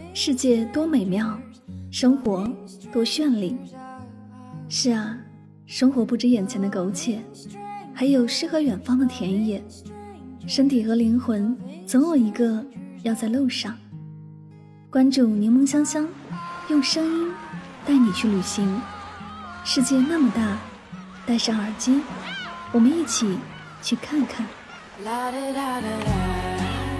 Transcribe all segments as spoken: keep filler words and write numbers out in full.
世界多美妙，生活多绚丽。是啊，生活不止眼前的苟且，还有诗和远方的田野。身体和灵魂总有一个要在路上。关注柠檬香香，用声音带你去旅行。世界那么大，戴上耳机，我们一起去看看。啦啦啦啦啦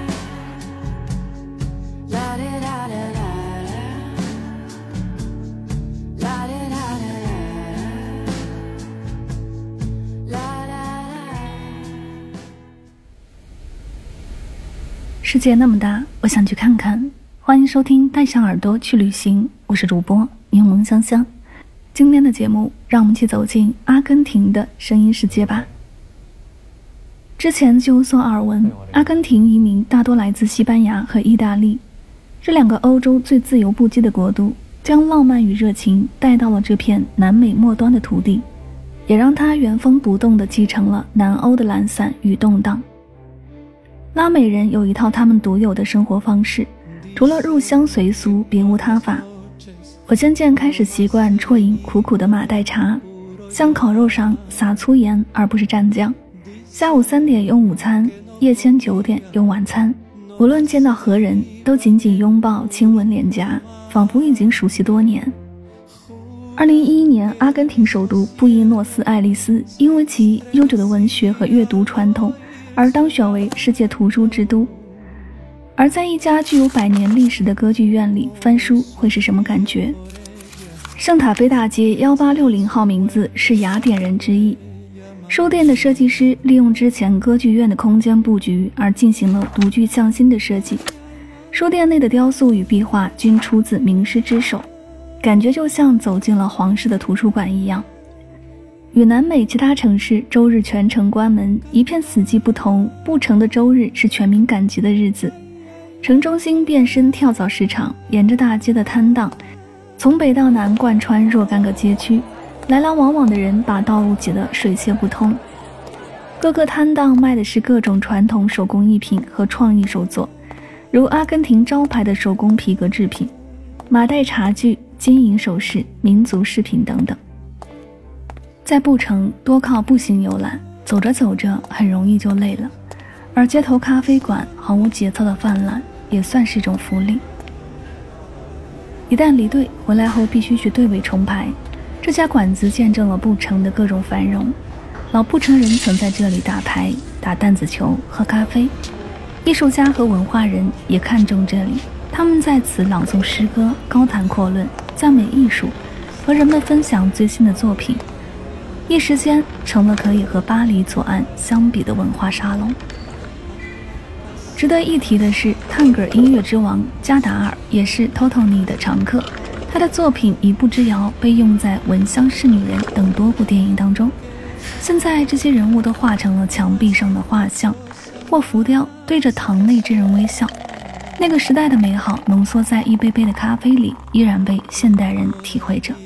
世界那么大，我想去看看。欢迎收听带上耳朵去旅行，我是主播柠檬香香。今天的节目，让我们一起走进阿根廷的声音世界吧。之前就有所耳闻，阿根廷移民大多来自西班牙和意大利，这两个欧洲最自由不羁的国度，将浪漫与热情带到了这片南美末端的土地，也让它原封不动地继承了南欧的懒散与动荡。拉美人有一套他们独有的生活方式，除了入乡随俗别无他法。我渐渐开始习惯啜饮苦苦的马黛茶，向烤肉上撒粗盐而不是蘸酱，下午三点用午餐，夜间九点用晚餐，无论见到何人都紧紧拥抱亲吻脸颊，仿佛已经熟悉多年。二零一一年，阿根廷首都布宜诺斯艾利斯因为其悠久的文学和阅读传统而当选为世界图书之都。而在一家具有百年历史的歌剧院里翻书会是什么感觉？圣塔菲大街一八六零号名字是雅典人之意。书店的设计师利用之前歌剧院的空间布局而进行了独具匠心的设计。书店内的雕塑与壁画均出自名师之手，感觉就像走进了皇室的图书馆一样。与南美其他城市周日全城关门一片死寂不同，布城的周日是全民赶集的日子。城中心变身跳蚤市场，沿着大街的摊档从北到南贯穿若干个街区，来来往往的人把道路挤得水泄不通。各个摊档卖的是各种传统手工艺品和创意手作，如阿根廷招牌的手工皮革制品、马黛茶具、金银首饰、民族饰品等等。在布城多靠步行游览，走着走着很容易就累了，而街头咖啡馆毫无节操的泛滥也算是一种福利。一旦离队回来后必须去队尾重排，这家馆子见证了布城的各种繁荣。老布城人曾在这里打牌、打弹子球、喝咖啡，艺术家和文化人也看重这里，他们在此朗诵诗歌，高谈阔论，赞美艺术，和人们分享最新的作品，一时间成了可以和巴黎左岸相比的文化沙龙。值得一提的是，探戈音乐之王加达尔也是 Totoni 的常客，他的作品《一步之遥》被用在《闻香识女人》等多部电影当中。现在这些人物都画成了墙壁上的画像或浮雕，对着堂内之人微笑。那个时代的美好浓缩在一杯杯的咖啡里，依然被现代人体会着。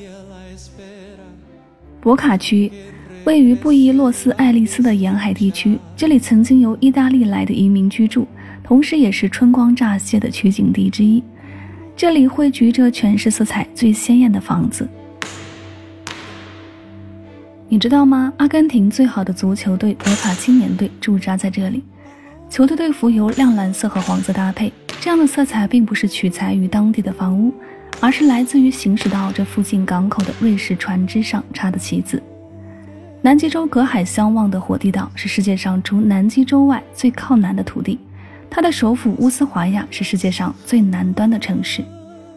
博卡区位于布宜诺斯艾利斯的沿海地区，这里曾经由意大利来的移民居住，同时也是春光乍泄的取景地之一。这里汇聚着全市色彩最鲜艳的房子。你知道吗？阿根廷最好的足球队博卡青年队驻扎在这里，球队队服由亮蓝色和黄色搭配，这样的色彩并不是取材于当地的房屋，而是来自于行驶到这附近港口的瑞士船只上插的旗子。南极洲隔海相望的火地岛是世界上除南极洲外最靠南的土地，它的首府乌斯怀亚是世界上最南端的城市。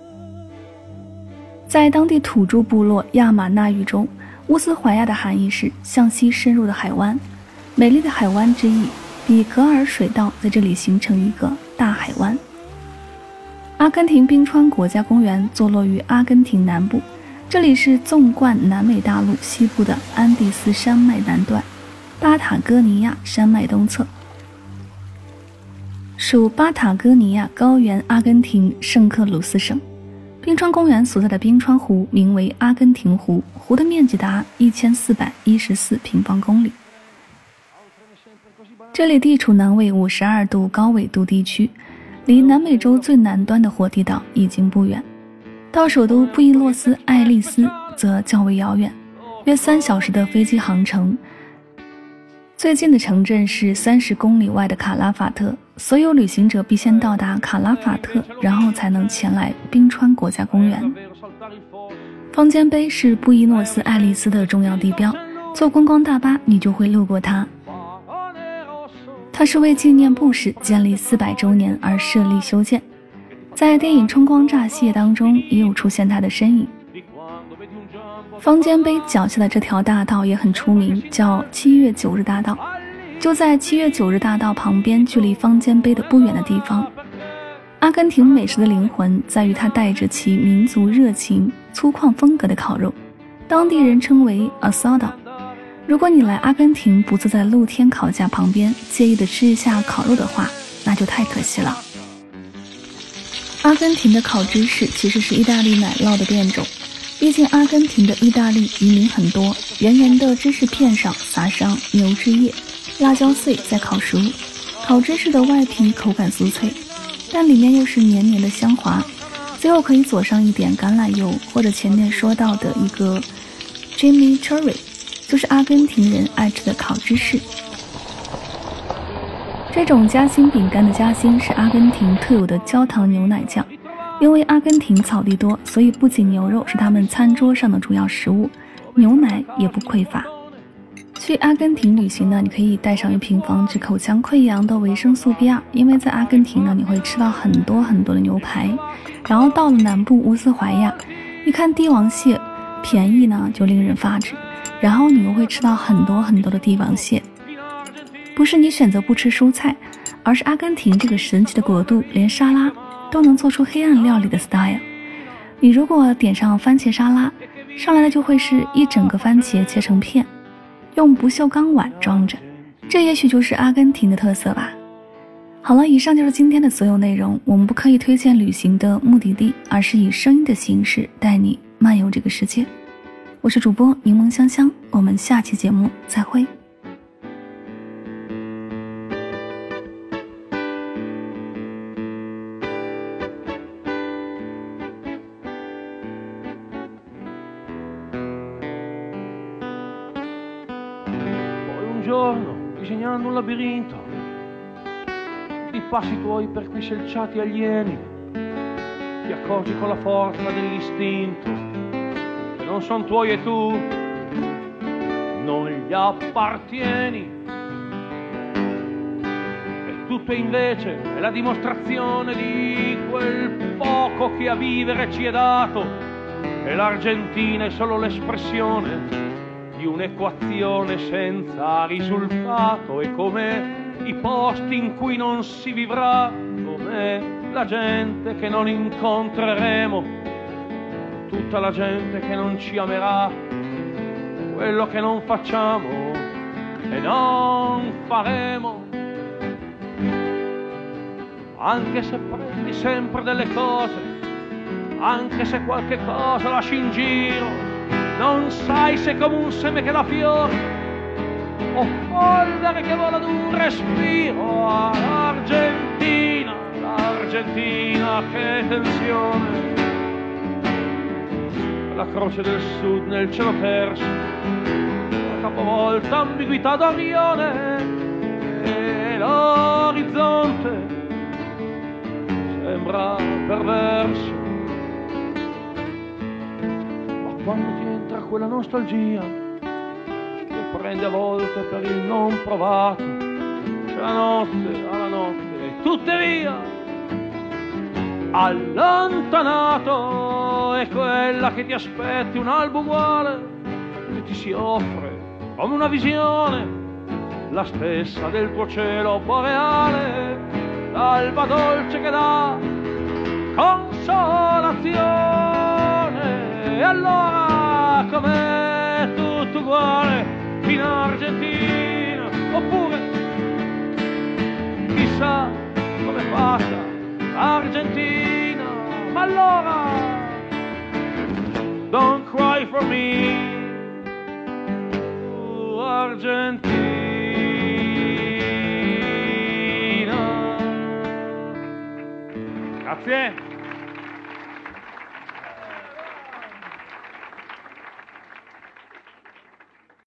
在当地土著部落亚马纳语中，乌斯怀亚的含义是向西深入的海湾，美丽的海湾之意，比格尔水道在这里形成一个大海湾。阿根廷冰川国家公园坐落于阿根廷南部，这里是纵贯南美大陆西部的安第斯山脉南端，巴塔哥尼亚山脉东侧，属巴塔哥尼亚高原阿根廷圣克鲁斯省。冰川公园所在的冰川湖名为阿根廷湖，湖的面积达一千四百一十四平方公里。这里地处南纬五十二度高纬度地区， 离南美洲最南端的火地岛已经不远，到首都布宜诺斯艾利斯则较为遥远，约三小时的飞机航程。最近的城镇是三十公里外的卡拉法特，所有旅行者必先到达卡拉法特，然后才能前来冰川国家公园。方尖碑是布宜诺斯艾利斯的重要地标，坐观光大巴你就会路过它。它是为纪念布什建立四百周年而设立修建，在电影《春光乍泄》当中也有出现它的身影。方尖碑脚下的这条大道也很出名，叫七月九日大道，就在七月九日大道旁边，距离方尖碑的不远的地方。阿根廷美食的灵魂在于它带着其民族热情、粗犷风格的烤肉，当地人称为 asado。如果你来阿根廷不坐在露天烤架旁边，介意的吃一下烤肉的话，那就太可惜了。阿根廷的烤芝士其实是意大利奶酪的变种，毕竟阿根廷的意大利移民很多，圆圆的芝士片上撒上牛脂液、辣椒碎再烤熟。烤芝士的外皮口感酥脆，但里面又是黏黏的香滑，最后可以佐上一点橄榄油，或者前面说到的一个 chimichurri， 就是阿根廷人爱吃的烤芝士。这种夹心饼干的夹心是阿根廷特有的焦糖牛奶酱，因为阿根廷草地多，所以不仅牛肉是他们餐桌上的主要食物，牛奶也不匮乏。去阿根廷旅行呢，你可以带上一瓶防止口腔溃疡的维生素 B 二， 因为在阿根廷呢，你会吃到很多很多的牛排。然后到了南部乌斯怀亚，一看帝王蟹便宜呢，就令人发指，然后你又会吃到很多很多的帝王蟹。不是你选择不吃蔬菜，而是阿根廷这个神奇的国度，连沙拉都能做出黑暗料理的 style。 你如果点上番茄沙拉，上来的就会是一整个番茄切成片，用不锈钢碗装着，这也许就是阿根廷的特色吧。好了，以上就是今天的所有内容。我们不刻意推荐旅行的目的地，而是以声音的形式带你漫游这个世界。我是主播柠檬香香，我们下期节目再会。 Un giorno, disegnando un labirinto di passi tuoi per qui selciati alieni, ti accorgi con la forza dell'istinto che non son tuoi e tu non gli appartieni. E tutto invece è la dimostrazione di quel poco che a vivere ci è dato, e l'Argentina è solo l'espressione di un'equazione senza risultato. E come i posti in cui non si vivrà, come la gente che non incontreremo, tutta la gente che non ci amerà, quello che non facciamo e non faremo. Anche se prendi sempre delle cose, anche se qualche cosa lasci in giro, non sai se come un seme che dà fiore o polvere che vola d'un respiro. L'Argentina, l'Argentina, che tensione, la croce del sud nel cielo terso, la capovolta ambiguità d'Orione, e l'orizzonte sembra perverso. Ma quando ti entra quella nostalgia che prende a volte per il non provato, c'è la notte, alla notte, e tutte via. Allontanato è quella che ti aspetti, un albo uguale che ti si offre come una visione, la stessa del tuo cielo boreale, l'alba dolce che dà consolazione. E allora com'è tutto uguale in Argentina, oppure chissà come passa Argentina. Ma allora don't cry for me, oh, Argentina. Grazie.